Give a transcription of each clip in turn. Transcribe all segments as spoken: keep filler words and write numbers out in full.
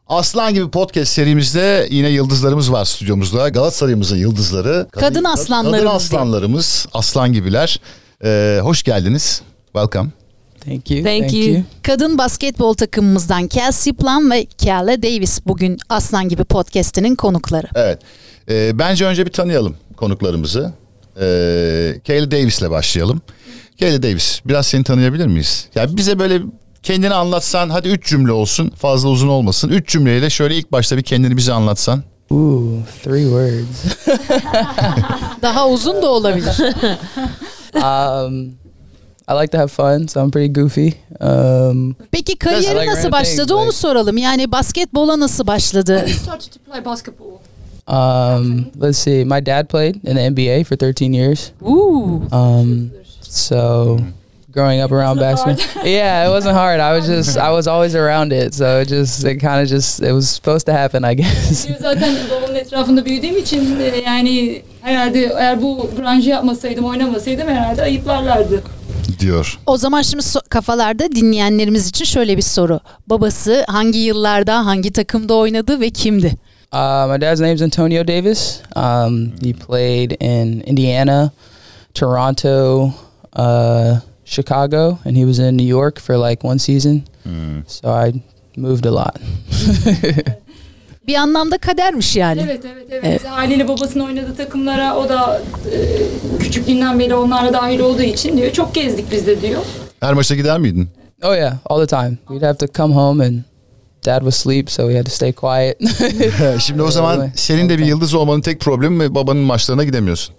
Aslan gibi podcast serimizde yine yıldızlarımız var stüdyomuzda. Galatasaray'ımızın yıldızları. Kadın, kadın aslanlarımız. Kadın aslanlarımız, aslan gibiler. Ee, hoş geldiniz. Welcome. Thank you. Thank, Thank you. you. Kadın basketbol takımımızdan Kelsey Plum ve Kiala Davis bugün Aslan gibi podcast'inin konukları. Evet. Ee, bence önce bir tanıyalım konuklarımızı. Ee, Kiala Davis'le başlayalım. Kiala Davis, biraz seni tanıyabilir miyiz? Yani bize böyle kendini anlatsan, hadi üç cümle olsun, fazla uzun olmasın. Üç cümleyle şöyle ilk başta bir kendini bize anlatsan. Ooh, three words. Daha uzun da olabilir. um, I like to have fun, so I'm pretty goofy. Um, Peki kariyeri like nasıl başladı things, onu like... soralım. Yani basketbola nasıl başladı? You started to play basketball. Um, let's see. My dad played in the N B A for thirteen years. Ooh. Um, so growing up around basketball, yeah, it wasn't hard. I was just, I was always around it. So it just, it kind of just, it was supposed to happen, I guess. Zaten babamın etrafında büyüdüğüm için yani herhalde eğer bu branşı yapmasaydım, oynamasaydım herhalde ayıplarlardı. Diyor. O zaman şimdi so- kafalarda dinleyenlerimiz için şöyle bir soru. Babası hangi yıllarda, hangi takımda oynadı ve kimdi? Uh, my dad's name is Antonio Davis. Um, he played in Indiana, Toronto, uh, Chicago, and he was in New York for like one season. Hmm. So I moved a lot. Bir anlamda kadermiş yani. Evet, evet, evet. evet. Haliyle babasının oynadığı takımlara o da e, küçüklüğünden beri onlara dahil olduğu için diyor. Çok gezdik biz de diyor. Her maça gider miydin? Oh yeah, all the time. We'd have to come home and Dad was asleep, so we had to stay quiet. Şimdi o zaman senin de bir yıldız olmanın tek problemi babanın maçlarına gidemiyorsun.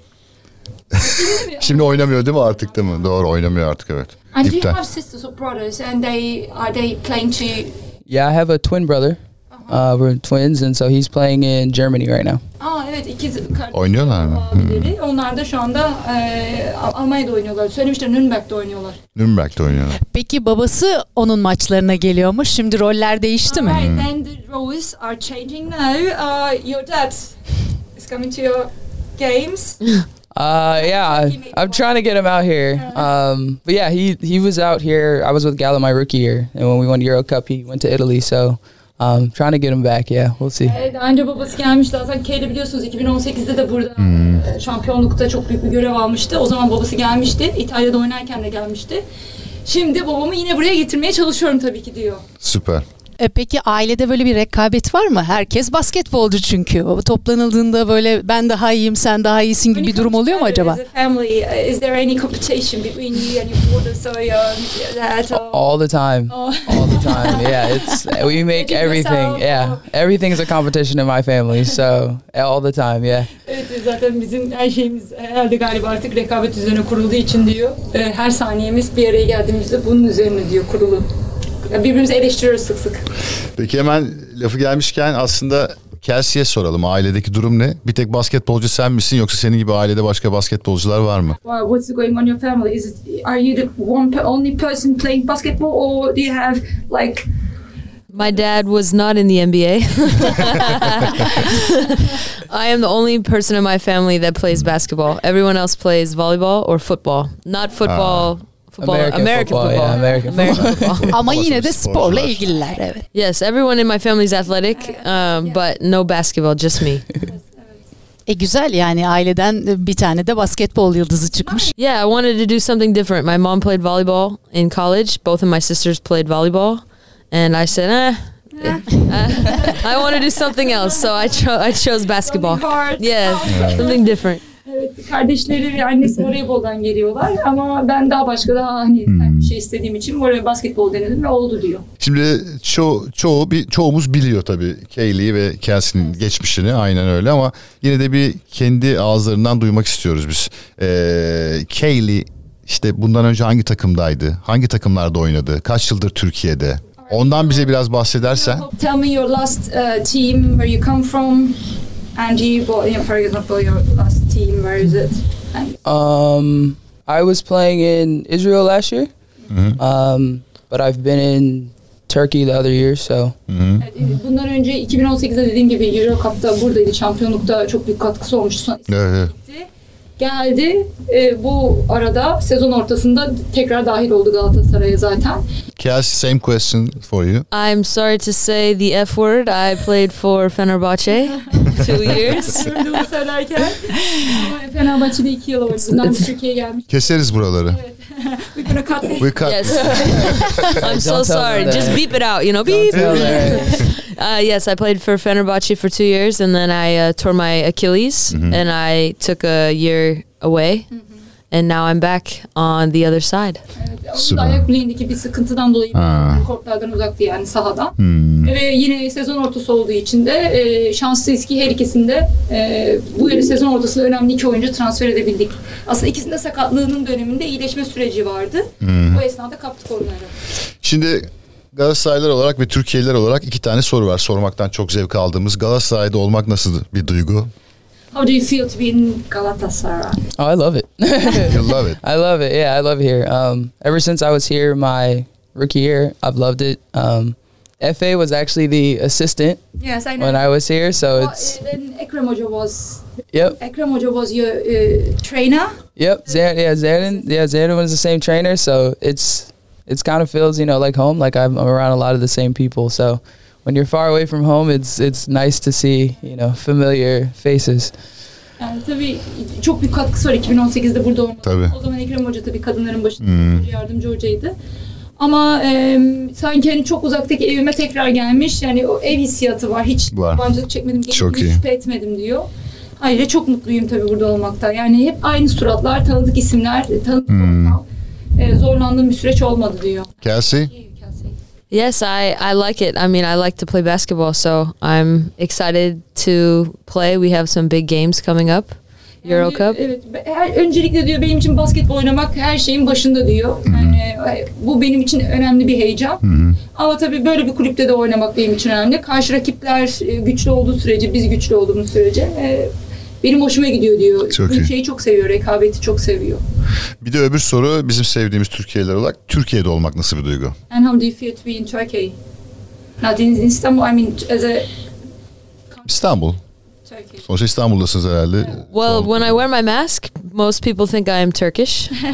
Şimdi oynamıyor değil mi artık, değil mi? Doğru, oynamıyor artık, evet. And do you have sisters or brothers and they are they playing to? Yeah, I have a twin brother. Uh, we're twins and so he's playing in Germany right now. Aa evet, ikiz kardeşler. Oynuyorlar mı? Abileri. Hmm. Onlar da şu anda e, Almanya'da oynuyorlar. Söylemişler, Nürnberg'de oynuyorlar. Nürnberg'de oynuyorlar. Peki babası onun maçlarına geliyormuş. Şimdi roller değişti mi? Right, and the roles are changing now. Uh, your dad is coming to your games. Uh, yeah, I'm trying to get him out here. Um, but yeah, he he was out here. I was with Gallo my rookie year, and when we won Euro Cup, he went to Italy. So, um, trying to get him back. Yeah, we'll see. Evet, daha önce babası gelmiş. Zaten K'de biliyorsunuz iki bin on sekizde de burada hmm. şampiyonlukta çok büyük bir görev almıştı. O zaman babası gelmişti. İtalya'da oynarken de gelmişti. Şimdi babamı yine buraya getirmeye çalışıyorum tabii ki diyor. Süper. E peki ailede böyle bir rekabet var mı? Herkes basketbolcu çünkü. O toplanıldığında böyle ben daha iyiyim, sen daha iyisin gibi bir durum oluyor mu acaba? As a family, is there any competition between you and your brothers or your dad? Or... All the time. Oh. All the time. Yeah, it's we make everything. Yeah, everything is a competition in my family. So all the time. Yeah. Evet, zaten bizim her şeyimiz herhalde galiba artık rekabet üzerine kurulduğu için diyor. Her saniyemiz bir araya geldiğimizde bunun üzerine diyor kurulu. Birbirimizi eleştiriyoruz sık sık. Peki hemen lafı gelmişken aslında Kelsey'ye soralım. Ailedeki durum ne? Bir tek basketbolcu sen misin yoksa senin gibi ailede başka basketbolcular var mı? Well, what's going on in your family? Is it, are you the one only person playing basketball or do you have like... My dad was not in the N B A. I am the only person in my family that plays basketball. Everyone else plays volleyball or football. Not football... Uh. Football, American, American football, football. Yeah, American, American football. football. Ama yine de sporla ilgililer, evet. Yes, everyone in my family is athletic, um, but no basketball, just me. E güzel, yani aileden bir tane de basketbol yıldızı çıkmış. Yeah, I wanted to do something different. My mom played volleyball in college. Both of my sisters played volleyball, and I said, eh. I want to do something else, so I, cho- I chose basketball. Yeah, something different. Evet, kardeşleri ve annesi voleyboldan geliyorlar ama ben daha başka daha hani hmm. bir şey istediğim için oraya basketbol denedim ve oldu diyor. Şimdi ço çoğu bir çoğumuz biliyor tabii Kaylee'yi ve Kelsey'nin geçmişini, aynen öyle, ama yine de bir kendi ağızlarından duymak istiyoruz biz. Ee, Kaylee işte bundan önce hangi takımdaydı? Hangi takımlarda oynadı? Kaç yıldır Türkiye'de? Ondan bize biraz bahsedersen. Tell me your last uh, team, where you come from. And you, for example, your last team, where is it? Um, I was playing in Israel last year, mm-hmm. um, but I've been in Turkey the other year, so. Mm-hmm. Bundan önce iki bin on sekizde dediğim gibi Euro Cup'ta buradaydı, şampiyonlukta çok büyük katkısı olmuştu. Evet. Geldi. E, bu arada sezon ortasında tekrar dahil oldu Galatasaray'a zaten. Kelsey, same question for you. I'm sorry to say the F word. I played for Fenerbahçe two years. Gördüğümü söylerken. Ama Fenerbahçe'de iki yıl oynadı. Bundan Türkiye'ye gelmiş. Keseriz buraları. We're gonna cut this. We cut. Yes. I'm so Don't tell sorry. them that. Just beep it out, you know. Don't Beep. tell her. Uh, yes, I played for Fenerbahçe for two years, and then I uh, tore my Achilles, Mhm. and I took a year away, and now I'm back on the other side. Evet, onun da Süper. ayak bileğindeki bir sıkıntıdan dolayı Ha. kortlardan uzaktı yani sahadan. Hmm. Ve yine sezon ortası olduğu için de e, şanslıyız ki her ikisinde e, bu yıl sezon ortasında önemli iki oyuncu transfer edebildik. Aslında ikisinde sakatlığının döneminde iyileşme süreci vardı. Hmm. Bu esnada kaptık onları. Şimdi Galatasaraylılar olarak ve Türkiye'liler olarak iki tane soru var. Sormaktan çok zevk aldığımız. Galatasaray'da olmak nasıl bir duygu? How do you feel to be in Galatasaray? Oh, I love it. You love it. I love it. Yeah, I love it here. Um, ever since I was here my rookie year, I've loved it. Um, F A was actually the assistant Yes, I know. when I was here, so Well, it's uh, then Ekrem Hoca was yep, Ekrem Hoca was your uh, trainer. yep. Zan, yeah, Zanin, yeah, Zanin was the same trainer, so it's it's kind of feels you know like home. Like I'm, I'm around a lot of the same people, so when you're far away from home, it's it's nice to see you know familiar faces. Yani tabii çok büyük katkısı var iki bin on sekizde burada olması. Tabii. O zaman Ekrem Hoca tabii kadınların başında Hmm. yardımcı hocaydı. Ama e, sanki hani çok uzaktaki evime tekrar gelmiş. Yani o ev hissiyatı var. Hiç Var. yabancılık çekmedim, Çok gelip iyi. şüphe etmedim diyor. Ayrıca çok mutluyum tabii burada olmakta. Yani hep aynı suratlar, tanıdık isimler, tanıdık Hmm. ortam. E, zorlandığım bir süreç olmadı diyor. Kelsey? Yes, I, I like it. I mean, I like to play basketball, so I'm excited to play. We have some big games coming up. Euro Yani, Cup. Evet. Her, öncelikle diyor benim için basketbol oynamak her şeyin başında diyor. Yani e, bu benim için önemli bir heyecan. Hı-hı. Ama tabii böyle bir kulüpte de oynamak benim için önemli. Karşı rakipler e, güçlü olduğu sürece, biz güçlü olduğumuz sürece e, benim hoşuma gidiyor diyor. Çok Bu iyi. şeyi çok seviyor, rekabeti çok seviyor. Bir de öbür soru bizim sevdiğimiz Türkiye'liler olarak Türkiye'de olmak nasıl bir duygu? And how do you feel to be in Turkey? Not in Istanbul, I mean as a İstanbul. Turkey. Sonuçta İstanbul'dasınız herhalde. Well, when I wear my mask, most people think I am Turkish. Yes,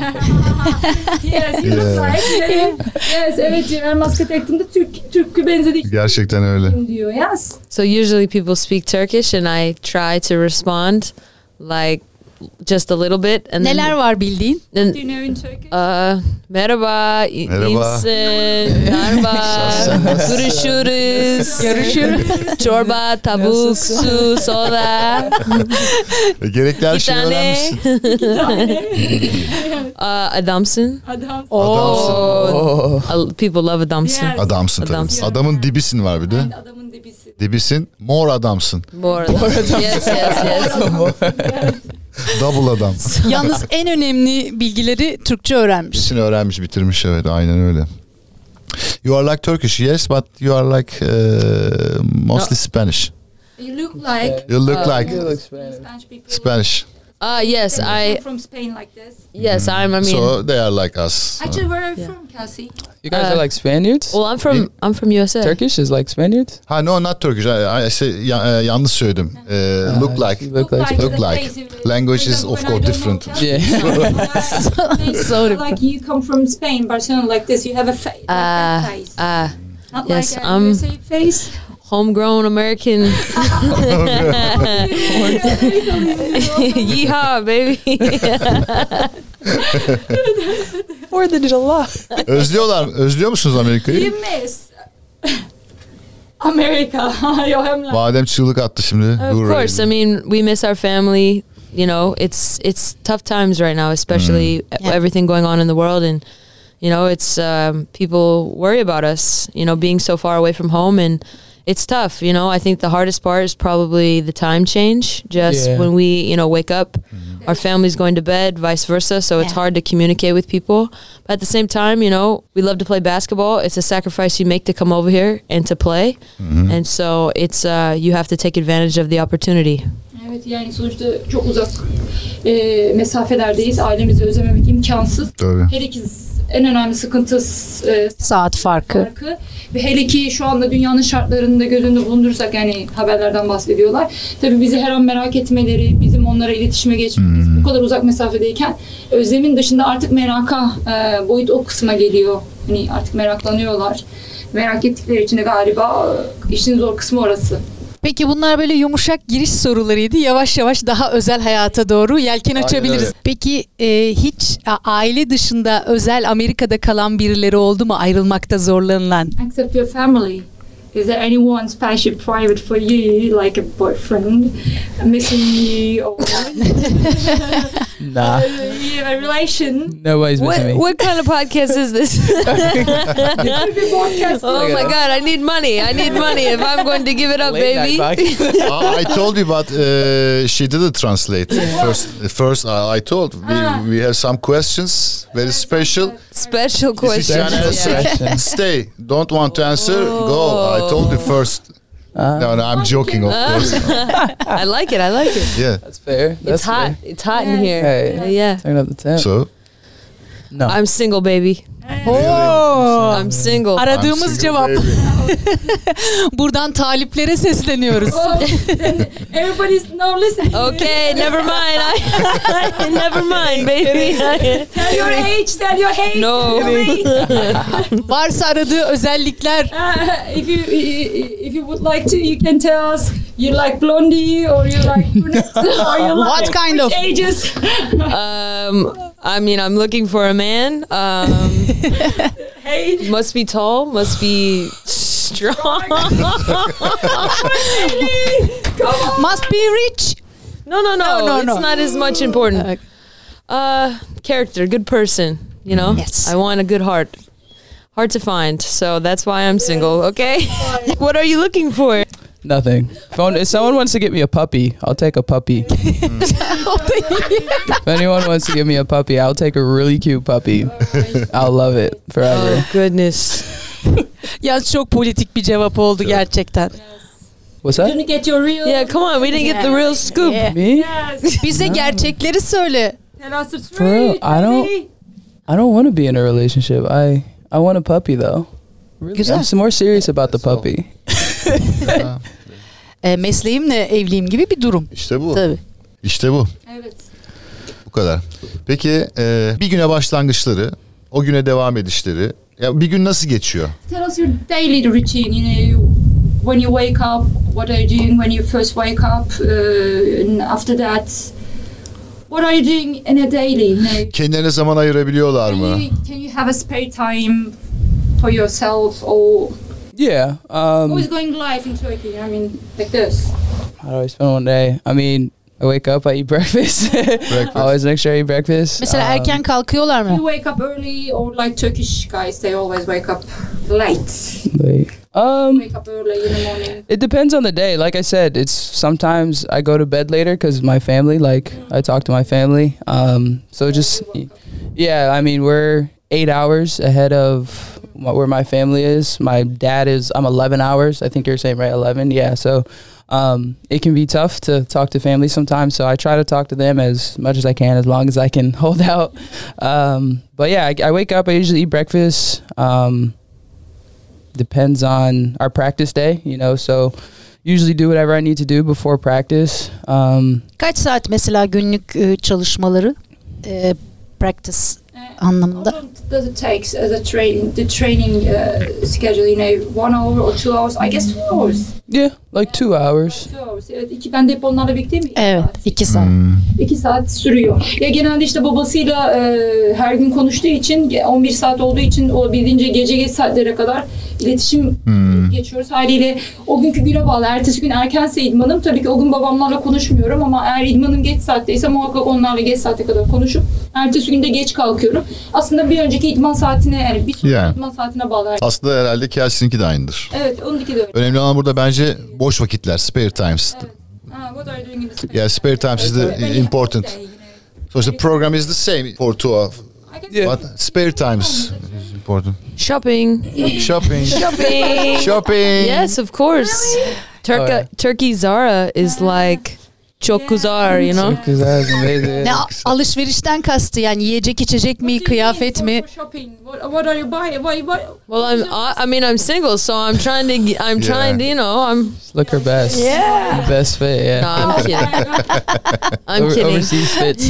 you look Yeah. like. Yes, evet diyor. Ben maske taktığımda Türk, Türk'ü benzediği Gerçekten öyle. diyor. Yes. So usually people speak Turkish, and I try to respond like just a little bit. And Neler then, var bildiğin? then, Do you know in Turkish? uh, merhaba, i- Merhaba. iyisin, merhaba, görüşürüz, Görüşürüz. çorba, tavuk, su, soda, E, Gerekli her bir şeyi tane, öğrenmişsin. uh, adamsın. Adam. Adamsın. Oh, Uh, people love adamsın. Yes. Adamsın tabii. Adamsın. Adamın dibisin var bir de. Yani adamın dibisi. Dibisin, more adamsın. More adamsın. Yes, yes, yes. Double adam. Yalnız en önemli bilgileri Türkçe öğrenmiş. Birisini öğrenmiş, bitirmiş, evet, aynen öyle. You are like Turkish, yes, but you are like uh, mostly No. Spanish. You look like You look Uh, like you look Spanish. Spanish people. Spanish. Uh, yes, I, from Spain like this. yes, I'm, I mean, So they are like us. Actually, where are you Yeah. from, Kelsey? You guys Uh, are like Spaniards. well, I'm from, I'm from U S A. Turkish is like Spaniards. Ha, no, not Turkish. I, I say, ya, e, yanlış söyledim. E, look like. You look like Look the like. face. Language is For of example, course when I don't different. know Yeah. Kelsey, Sorry. like you come from Spain, Barcelona, like this. You have a face. Like Uh, that face. uh, Not yes, like a um, U S A face. homegrown American. Yeehaw, baby. Fourth of July. Özlüyorlar, özlüyor musunuz Amerika'yı? You miss America. Yo, hem like. Badem çığlık attı şimdi. Of Dur course, I ready. mean, we miss our family. You know, it's it's tough times right now, especially Yeah. everything going on in the world, and you know, it's um, people worry about us. You know, being so far away from home, and it's tough. You know, I think the hardest part is probably the time change. Just Yeah. when we, you know, wake up, our family's going to bed, vice versa. So it's Yeah. hard to communicate with people. But at the same time, you know, we love to play basketball. It's a sacrifice you make to come over here and to play, and so it's uh, you have to take advantage of the opportunity. Evet, yani sonuçta çok uzak e, mesafelerdeyiz. Ailemizi özlememek imkansız. Tabii. Her iki en önemli sıkıntısı e, Saat farkı. farkı. Ve hele ki şu anda dünyanın şartlarını da göz önünde bulundurursak, yani haberlerden bahsediyorlar. Tabii bizi her an merak etmeleri, bizim onlara iletişime geçmemiz, bu kadar uzak mesafedeyken özlemin dışında artık meraka e, boyut o kısma geliyor. Hani artık meraklanıyorlar. Merak ettikleri için de galiba e, işin zor kısmı orası. Peki bunlar böyle yumuşak giriş sorularıydı. Yavaş yavaş daha özel hayata doğru yelken Aynen açabiliriz. öyle. Peki e, hiç a- aile dışında özel Amerika'da kalan birileri oldu mu ayrılmakta zorlanılan? Except your family. Is there anyone special private for you, like a boyfriend missing you, or Nah, you have a relation? nobody's What missing me. what kind of podcast is this? Oh my god, I need money. I need money if I'm going to give it up, Late night baby. podcast. I told you, but uh, she didn't translate. First, first I, I told we, Ah. we have some questions, very special. Special If you question. can answer, Yeah. stay. Don't want to answer, go. I told you first. Uh, No, no, I'm joking, of course. I like it. I like it. Yeah. That's fair. That's It's hot. fair. It's hot in Yes. here. Hey. Yeah. Turn up the temp. So, No. I'm single, baby. Oo! I'm single. I'm Aradığımız single, cevap. baby. Buradan taliplere sesleniyoruz. Oh, everybody's now listen. Okay, never mind. I, never mind, baby. Tell your age. Tell your age. No. Your age. Varsa aradığı özellikler. Uh, if you if you would like to, you can tell us. You like blondie or you like brunette or you like What kind of? which ages? Um, I mean, I'm looking for a man. Um, Hey. must be tall. Must be strong. Come on. Must be rich. No, no, no. No, no, it's no. not as much important. Uh, Uh, character, good person. You know. Yes. I want a good heart. Hard to find, so that's why I'm single. Okay. What are you looking for? Nothing. If, one- if someone wants to get me a puppy, I'll take a puppy. If anyone wants to give me a puppy, I'll take a really cute puppy. I'll love it forever. Oh goodness. Ya çok politik bir cevap oldu gerçekten. What's You're that? gonna get your real. Yeah, come on. We didn't get the real scoop. Yeah. Me? Yes. Bize gerçekleri söyle. Tell us the truth. For real, I don't- baby. I don't want to be in a relationship. I I want a puppy though. Really, Güzel. I'm more serious about the puppy. E, mesleğimle evliyim gibi bir durum. İşte bu. Tabii. İşte bu. Evet. Bu kadar. Peki e, bir güne başlangıçları, o güne devam edişleri. Ya bir gün nasıl geçiyor? Tell us your daily routine. You know, you, when you wake up, what are you doing when you first wake up, uh, and after that, what are you doing in a daily? You know, Kendilerine zaman ayırabiliyorlar can mı? you, can you have a spare time for yourself, or Yeah. Um, who's going live in Turkey? I mean, like this. how do I spend one day? I mean, I wake up, I eat breakfast. I always make sure I eat breakfast. Mesela Um, erken kalkıyorlar mı? You wake up early, or like Turkish guys, they always wake up late. like, um, Wake up early in the morning. it depends on the day. Like I said, it's sometimes I go to bed later because my family. Like I talk to my family. Um, so just yeah. I mean, we're eight hours ahead of wh- where my family is. My dad is. I'm eleven hours. I think you're saying right, eleven. Yeah. So um, it can be tough to talk to family sometimes. So I try to talk to them as much as I can, as long as I can hold out. Um, but yeah, I, I wake up. I usually eat breakfast. Um, depends on our practice day, you know. So usually do whatever I need to do before practice. Um, Kaç saat mesela günlük e, çalışmaları? E, practice anlamında. How long does it take as a training, the training uh, schedule? You know, one hour or two hours? I guess two hours. yeah, like two hours. Two hours. Evet, iki, ben de hep onlarla birlikteyim. İki Evet, saat. iki saat. Hmm. İki saat sürüyor. Ya genelde işte babasıyla e, her gün konuştuğu için, on bir saat olduğu için olabildiğince gece geç saatlere kadar iletişim Hmm. geçiyoruz. Haliyle o günkü güne bağlı. Ertesi gün erkense idmanım. Tabii ki o gün babamlarla konuşmuyorum ama eğer idmanım geç saatteyse muhakkak onlarla geç saate kadar konuşup ertesi günde geç kalkıyorum. Aslında bir önceki idman saatine, yani bir sonraki Yani. idman saatine bağlı. Aslında herhalde Kelsey'ninki de aynıdır. Evet, onunki de öyle. Önemli olan burada bence boş vakitler, spare times. Ha, what are you doing in the spare Yeah, spare times is When the you important. have a day, you know. So the program is the same for two of. I guess Yeah. But spare times is important. Shopping. Shopping. Shopping. Shopping. Yes, of course. Turkey Oh, yeah. Turkey Zara is like çok güzel, you know. Because that's amazing. Ne alışverişten kastı yani yiyecek içecek mi, kıyafet mi? Shopping. What, what are you buying? What, what, Well, I'm I, I mean I'm single, so I'm trying to get- I'm trying to, you know, I'm Just look her best. Yeah. The best fit, yeah. no, I'm kidding. I'm Over- kidding. Overseas fits.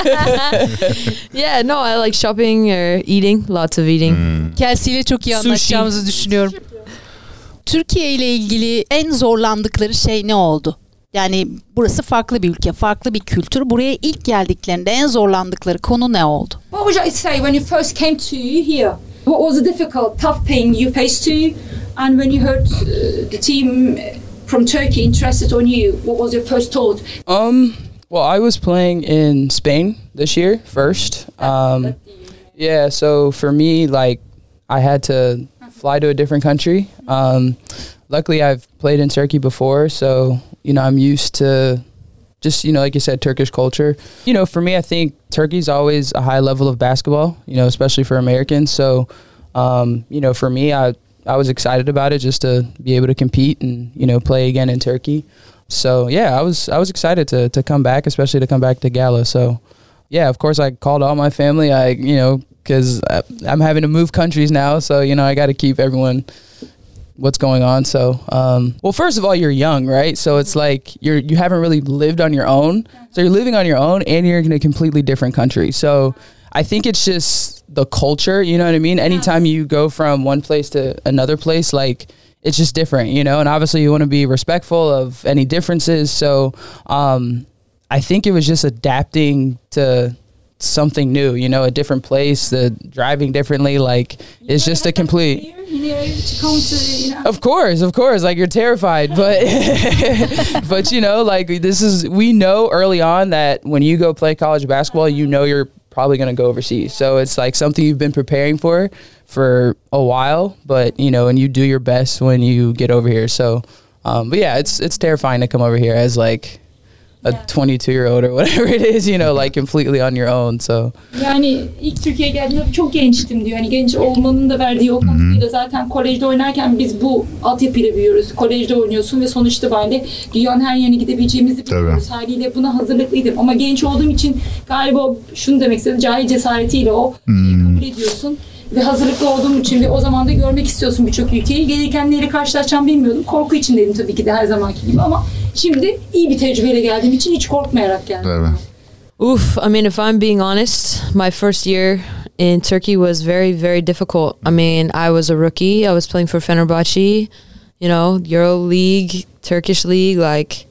Yeah, no, I like shopping or eating, lots of eating. Kelsey ile çok iyi Sushi. anlaşacağımızı düşünüyorum. Türkiye ile ilgili en zorlandıkları şey ne oldu? Yani burası farklı bir ülke, farklı bir kültür. Buraya ilk geldiklerinde en zorlandıkları konu ne oldu? what would you say when you first came to here? What was the difficult, tough thing you faced to? And when you heard uh, the team from Turkey interested on you, what was your first thought? Um, well, I was playing in Spain this year first. Um, yeah, so for me, like, I had to fly to a different country. Um, luckily, I've played in Turkey before, so, you know, I'm used to just, you know, like you said, Turkish culture. You know, for me, I think Turkey's always a high level of basketball, you know, especially for Americans. So, um, you know, for me, I, I was excited about it just to be able to compete and, you know, play again in Turkey. So, yeah, I was I was excited to to come back, especially to come back to Gala. So, yeah, of course, I called all my family, I, you know, because I'm having to move countries now. So, you know, I got to keep everyone what's going on. So, um, well, first of all, you're young, right? So it's like you're you haven't really lived on your own. So you're living on your own, and you're in a completely different country. So I think it's just the culture. You know what I mean? Anytime you go from one place to another place, like it's just different, you know. And obviously, you want to be respectful of any differences. So um, I think it was just adapting to something new, you know, a different place, the driving differently, like it's just a complete. You know, to come to, you know. Of course, of course, like you're terrified, but but you know, like this is we know early on that when you go play college basketball, you know you're probably going to go overseas. So it's like something you've been preparing for for a while, but you know, and you do your best when you get over here. So um but yeah, it's it's terrifying to come over here as like a twenty-two year old or whatever it is, you know, like completely on your own. So Yani ilk Türkiye'ye geldiğimde çok gençtim diyor. Hani genç olmanın da verdiği o katkıyla zaten kolejde oynarken biz bu altyapıyla büyüyoruz. Kolejde oynuyorsun ve sonuç itibariyle dünyanın her yerine gidebileceğimizi biliyoruz. Haliyle buna hazırlıklıydım. Ama genç olduğum için galiba şunu demek istedim. Cahil cesaretiyle o şeyi kabul ediyorsun. Ve hazırlıklı olduğum için ve o zaman da görmek istiyorsun birçok ülkeyi. Gelirken neyle karşılaşacağımı bilmiyordum. Korku içindeydim tabii ki de her zamanki gibi ama şimdi iyi bir tecrübeyle geldiğim için hiç korkmayarak geldim. Evet. Oof, I mean, if I'm being honest, my first year in Turkey was very, very difficult. I mean, I was a rookie. I was playing for Fenerbahce, you know, Euro League, Turkish League. Like,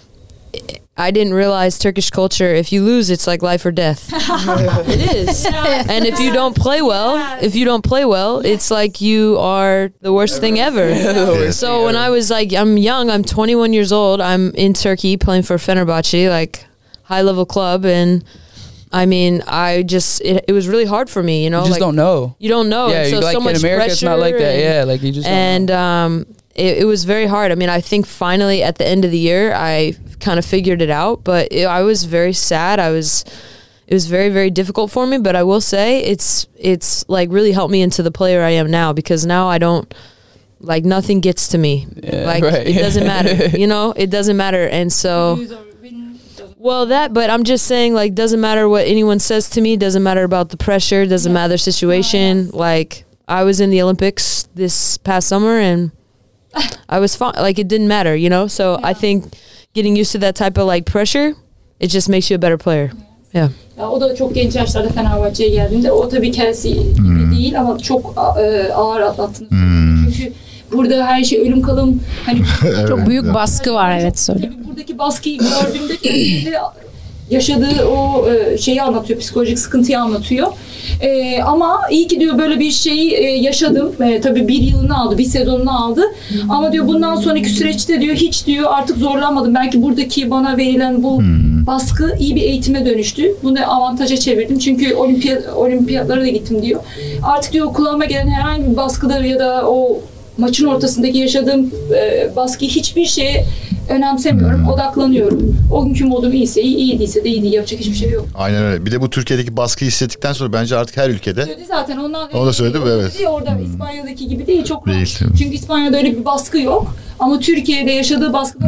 I didn't realize Turkish culture, if you lose, it's like life or death. It is. And if you don't play well, if you don't play well, it's like you are the worst thing ever. So when I was like, I'm young, I'm twenty-one years old, I'm in Turkey playing for Fenerbahce, like high level club. And I mean, I just, it, it was really hard for me, you know. you just like, don't know. You don't know. Yeah, And so, like so much in America, it's not like that. pressure Yeah, like you just don't and know. um, it, it was very hard. I mean, I think finally at the end of the year, I kind of figured it out. But it, I was very sad. I was, it was very very difficult for me. But I will say, it's it's like really helped me into the player I am now, because now I don't like nothing gets to me. Yeah, like right. it doesn't matter. You know, it doesn't matter. And so. Well, that, but I'm just saying, like, doesn't matter what anyone says to me, doesn't matter about the pressure, doesn't matter the situation. Like, I was in the Olympics this past summer and I was fine. Like, it didn't matter, you know? So I think getting used to that type of, like, pressure, it just makes you a better player. Yeah. Ya, o da çok genç yaşlarda Fenerbahçe'ye geldiğinde o tabii Kelsey gibi değil ama çok e, ağır atlattığını söylüyor. Çünkü burada her şey ölüm kalım. Hani Çok büyük baskı var, evet söylüyorum. buradaki baskıyı gördüğümde kesinlikle yaşadığı o e, şeyi anlatıyor, psikolojik sıkıntıyı anlatıyor. E, ama iyi ki diyor böyle bir şeyi e, yaşadım. E, tabii bir yılını aldı, bir sezonunu aldı. Ama diyor bundan sonraki süreçte diyor hiç diyor artık zorlanmadım. Belki buradaki bana verilen bu baskı iyi bir eğitime dönüştü. Bunu avantaja çevirdim. Çünkü olimpiyat olimpiyatlara da gittim diyor. Artık diyor kulağıma gelen herhangi bir baskıdır ya da o maçın ortasındaki yaşadığım e, baskıyı hiçbir şeye önemsemiyorum, hmm. odaklanıyorum. O günkü modum iyiyse iyi, iyi değilse de iyi değil. Yapacak hiçbir şey yok. Aynen öyle. Bir de bu Türkiye'deki baskıyı hissettikten sonra bence artık her ülkede. Söyledi zaten. Ondan o da söyledi mi? Evet. Orada hmm. İspanya'daki gibi değil. Çok rahat. Değil. Çünkü İspanya'da öyle bir baskı yok. Ama Türkiye'de yaşadığı baskıdan hmm.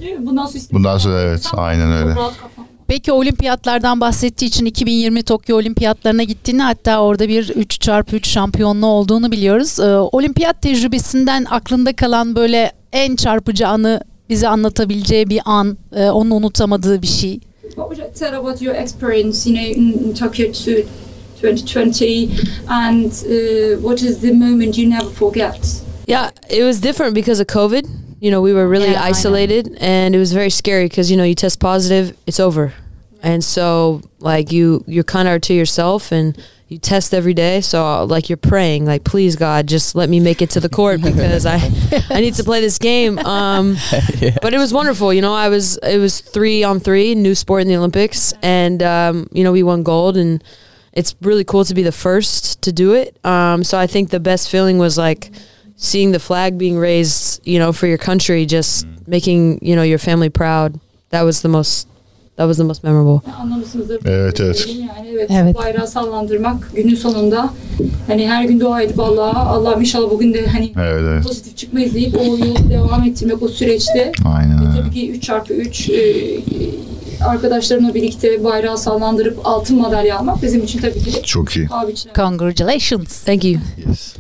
Değil mi? Bundan sonra Bundan sonra evet, aynen öyle. Rahat kafam. Peki olimpiyatlardan bahsettiği için iki bin yirmi Tokyo Olimpiyatlarına gittiğini, hatta orada bir üç çarpı üç şampiyonluğu olduğunu biliyoruz. Ee, olimpiyat tecrübesinden aklında kalan böyle en çarpıcı anı, bize anlatabileceği bir an, e, onun unutamadığı bir şey. What would you tell about your experience, you know, in Tokyo twenty twenty, and uh, what is the moment you never forget? Yeah, it was different because of COVID. You know, we were really Yeah, I know. isolated, and it was very scary because, you know, you test positive, it's over. And so, like, you, you're kind of to yourself, and you test every day. So, like, you're praying, like, please, God, just let me make it to the court because I, I need to play this game. Um, Yeah. But it was wonderful. You know, I was, it was three on three, new sport in the Olympics. And, um, you know, we won gold, and it's really cool to be the first to do it. Um, so I think the best feeling was, like, seeing the flag being raised, you know, for your country, just making, you know, your family proud. That was the most, that was the most memorable. Anlamışsınızdır. Evet, evet. Yani evet, Evet. bayrağı sallandırmak günün sonunda. Hani her gün dua edip Allah'a, Allah'ım inşallah bugün de hani Evet, evet. pozitif çıkmayız deyip o yolu devam ettirmek o süreçte. Aynen Ve öyle. tabii ki üç çarpı üç e, arkadaşlarımla birlikte bayrağı sallandırıp altın madalya almak bizim için tabii ki Çok iyi. paha biçilen. Congratulations. Thank you. Yes.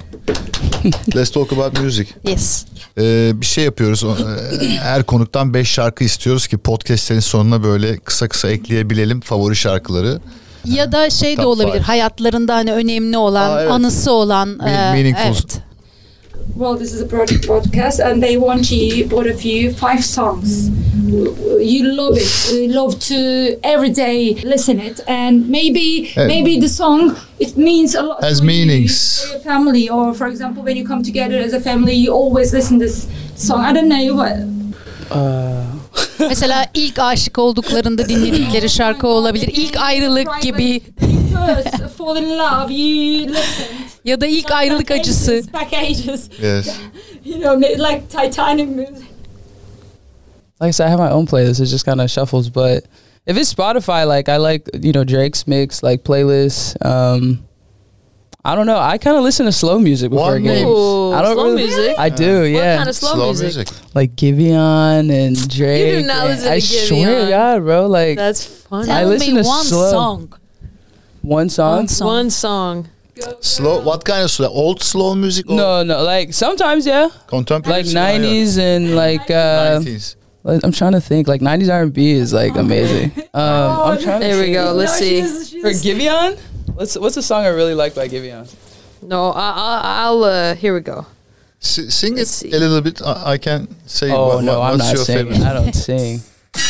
Let's talk about music. Yes. Ee, bir şey yapıyoruz. O, e, Her konuktan beş şarkı istiyoruz ki podcastlerin sonuna böyle kısa kısa ekleyebilelim favori şarkıları. Ya da şey de Top olabilir, five. hayatlarında hani önemli olan, Aa, evet. anısı olan. Me- e, meaningful. Evet. Well, this is a project podcast, and they want you, both of you, five songs. You love it, you love to every day listen it, and maybe Evet. maybe the song it means a lot Has for you, meanings. for your family, or for example, when you come together as a family, you always listen this song. I don't know what. Uh, Mesela ilk aşık olduklarında dinledikleri şarkı olabilir. İlk ayrılık gibi. First fall in love, you listen. Ya da ilk ayrılık acısı. Back ages, Yes. you know, like Titanic music. like I said, I have my own playlist. It just kind of shuffles. But if it's Spotify, like I like, you know, Drake's mix, like playlists. Um, I don't know. I kind of listen to slow music before One games. Ooh, I don't slow really, music? I do, What yeah. kind of slow, music? Like Giveon and Drake. not and- listen to I swear to Giveon. God, bro. Like That's fun. I Tell listen me to one slow- song. one song. One song. One song. Slow. What kind of slow? Old slow music? Or No, no. Like sometimes, yeah. Contemporary. Like nineties and like uh, nineties. like, I'm trying to think. Like nineties R and B is like amazing. Um, I'm trying. There to we go. Let's see. For Giveon, what's what's a song I really like by Giveon? No, I, I, I'll. Uh, here we go. S- sing it Let's see. a little bit. I, I can say. Oh what, no, what- I'm what's not your singing. favorite? I don't sing.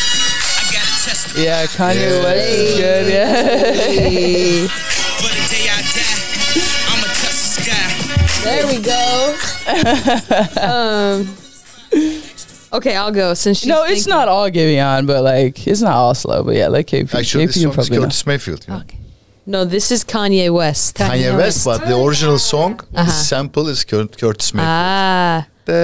Yeah, Kanye Yeah. West is good. Yeah. Hey. For the day I die, I'ma touch the sky. There we go. um. Okay, I'll go since she's No, it's thinking. not all Giveon, but like it's not all slow. But yeah, like K P. Actually, K this P you song is probably know. Curtis Mayfield. You know? Okay. No, this is Kanye West. Kanye West, but the original song, the Uh-huh. sample is Cur- Curtis Mayfield. Ah,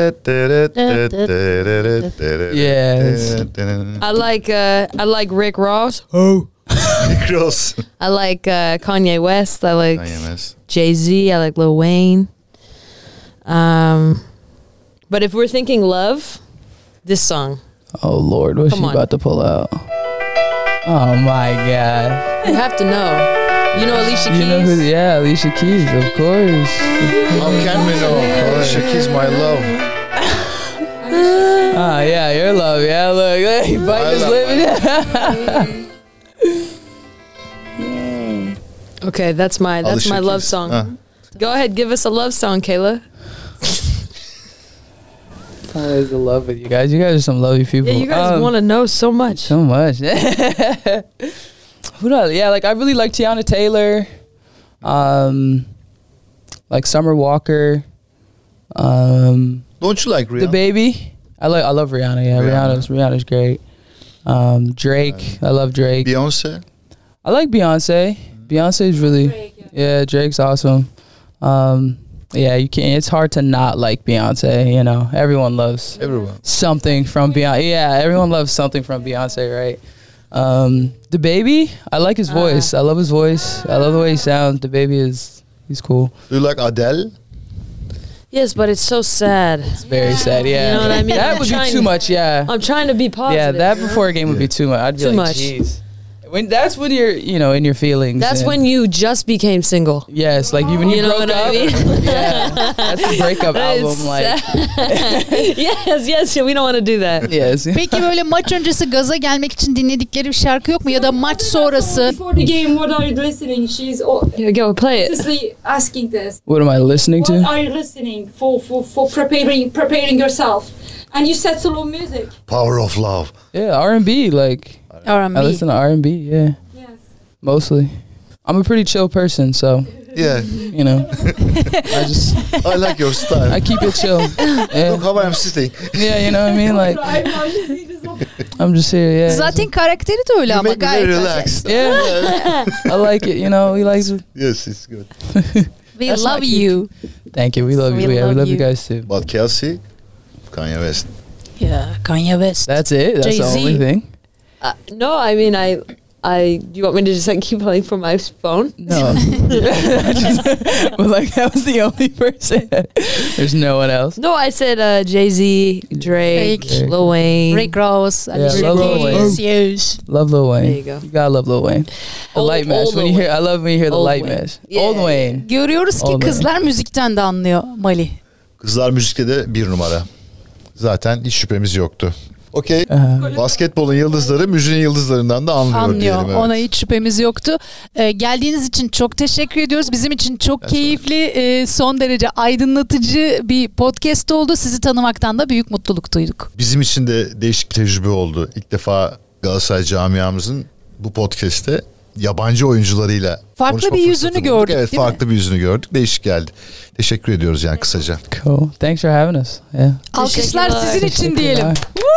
Yes. I like. Uh, I like Rick Ross. Rick Ross. I like uh, Kanye West. I like Kanye West. Jay Z. I like Lil Wayne. Um, but if we're thinking love, this song. Oh Lord, what's Come she on. about to pull out? Oh my God. You have to know. You know Alicia Keys. You know who? Yeah, Alicia Keys, of course. How can we know? Alicia Keys, my love. Ah, yeah, your love. Yeah, look, hey, I bite his love lip. Okay, that's my that's Alicia my love Keys. song. Ah. Go ahead, give us a love song, Kayla. Always in love with you guys. You guys are some lovely people. Yeah, you guys Um, want to know so much. so much. Who knows? Yeah, like I really like Tiana Taylor, um, like Summer Walker, um, Don't you like Rihanna? The Baby. I like I love Rihanna. Yeah, Rihanna. Rihanna's Rihanna's great. Um, Drake. I love Drake. Beyonce. I like Beyonce. Beyonce's really Drake, yeah. yeah. Drake's awesome. Um, yeah, you can't. It's hard to not like Beyonce. You know, everyone loves Everyone. something from Beyonce. Yeah, everyone loves something from Beyonce, right? Um, the Baby. I like his voice. I love his voice. I love the way he sounds. The Baby is he's cool. Do you like Adele? Yes, but it's so sad. It's very sad. Yeah, You know what I mean? That I'm would be trying- too much. Yeah, I'm trying to be positive. yeah. That you know? before a game would be too much. I'd be Too like, much. jeez. When that's when you're, you know, in your feelings. That's and- when you just became single. Yes, like you when you, You know broke what I up. mean? Yeah, that's the breakup album. It's Like, yes, yes, we don't want to do that. yes. Peki böyle maç öncesi gaza gelmek için dinledikleri bir şarkı yok mu? Ya da maç sonrası? Before the game, what are you listening? She's oh, Here, go play it. obviously asking this. What am I listening What to? are you listening for for for preparing preparing yourself? And you said slow music. Power of love. Yeah, R and B. Like R and I B. listen to R and B. Yeah, Yes. mostly. I'm a pretty chill person, so Yeah, you know, I just I like your style. I keep it chill. Yeah, Look how I'm sitting. yeah, you know what I mean. Like I'm just here. Yeah, Zaten karakteri de öyle You ama make me very gayet. relaxed. yeah. I like it. You know, he likes it. Yes, it's good. We That's love not you. Thank you. We love We you. Yeah, we love love you you. guys too. But Kelsey, Kanye West. Yeah, Kanye West. That's it. That's the Jay-Z. only thing. Uh, no, I mean, I, I. Do you want me to just like keep playing from my phone? No, but like that was the only person. There's no one else. No, I said uh, Jay Z, Drake, Drake. Lil Wayne. Rick Ross. Yeah, Alicia love Lil Keys. Wayne. Yes. Love Lil Wayne. There you go. You gotta love Lil Wayne. The Old- light match. old When Lil you hear, I love when you hear the Old light Wayne. match. Yeah. Old Wayne. Görüyoruz ki Oldu. kızlar müzikten de anlıyor Mali. Kızlar müzikte de bir numara. Zaten hiç şüphemiz yoktu. Okey. Aha. Basketbolun yıldızları müziğin yıldızlarından da anlıyor, Anlıyor. diyelim. Evet. Ona hiç şüphemiz yoktu. Ee, geldiğiniz için çok teşekkür ediyoruz. Bizim için çok keyifli, e, son derece aydınlatıcı bir podcast oldu. Sizi tanımaktan da büyük mutluluk duyduk. Bizim için de değişik bir tecrübe oldu. İlk defa Galatasaray camiamızın bu podcast'te yabancı oyuncularıyla Farklı konuşma bir yüzünü fırsatı bulduk. gördük, Evet, değil mi? farklı bir yüzünü gördük. Değişik geldi. Teşekkür ediyoruz yani kısaca. Cool. Thanks for having us. Yeah. Alkışlar Teşekkürler. sizin için diyelim. Teşekkürler.